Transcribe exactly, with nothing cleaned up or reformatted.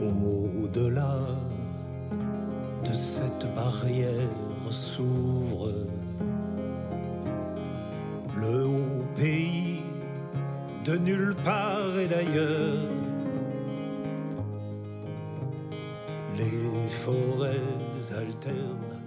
Au-delà de cette barrière s'ouvre le haut pays de nulle part et d'ailleurs. Les forêts alternent